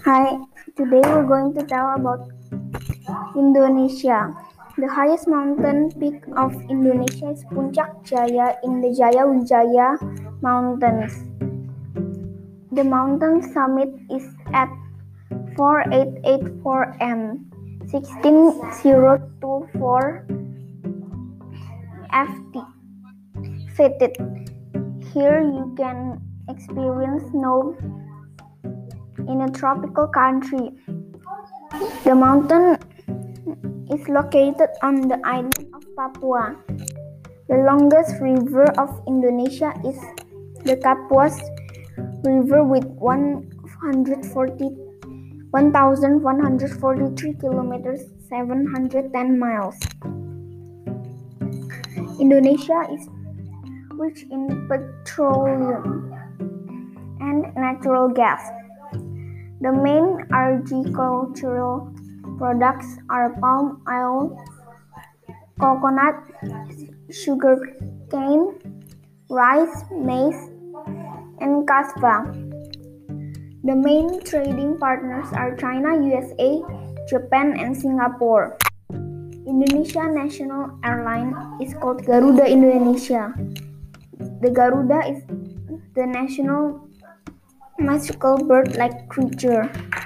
Hi, today we're going to tell about Indonesia. The highest mountain peak of Indonesia is Puncak Jaya in the Jaya Wijaya Mountains. The mountain summit is at 4884 m, 16024 feet. Here you can experience snow in a tropical country. The mountain is located on the island of Papua. The longest river of Indonesia is the Kapuas River with 1,143 kilometers, 710 miles. Indonesia is rich in petroleum and natural gas. The main agricultural products are palm oil, coconut, sugarcane, rice, maize, and kasva. The main trading partners are China, USA, Japan, and Singapore. Indonesia national airline is called Garuda Indonesia. The Garuda is the national magical bird-like creature.